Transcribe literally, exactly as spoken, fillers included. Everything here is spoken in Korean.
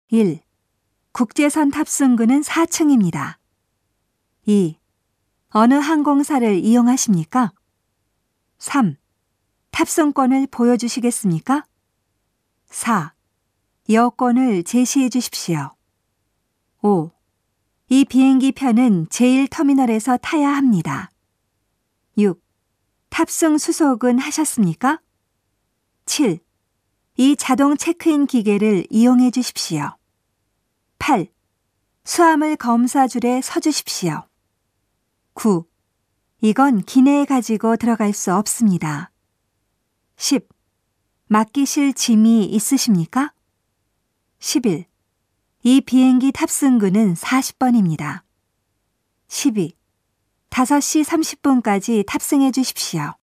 일. 국제선 탑승구는 사 층입니다. 이. 어느 항공사를 이용하십니까? 삼. 탑승권을 보여주시겠습니까? 사. 여권을 제시해 주십시오. 오. 이 비행기 편은 제일 터미널에서 타야 합니다. 육. 탑승 수속은 하셨습니까? 칠. 이 자동 체크인 기계를 이용해 주십시오. 팔. 수화물 검사줄에 서 주십시오. 구. 이건 기내에 가지고 들어갈 수 없습니다. 십. 맡기실 짐이 있으십니까? 십일. 이 비행기 탑승구는 사십 번입니다. 십이. 다섯 시 삼십 분까지 탑승해 주십시오.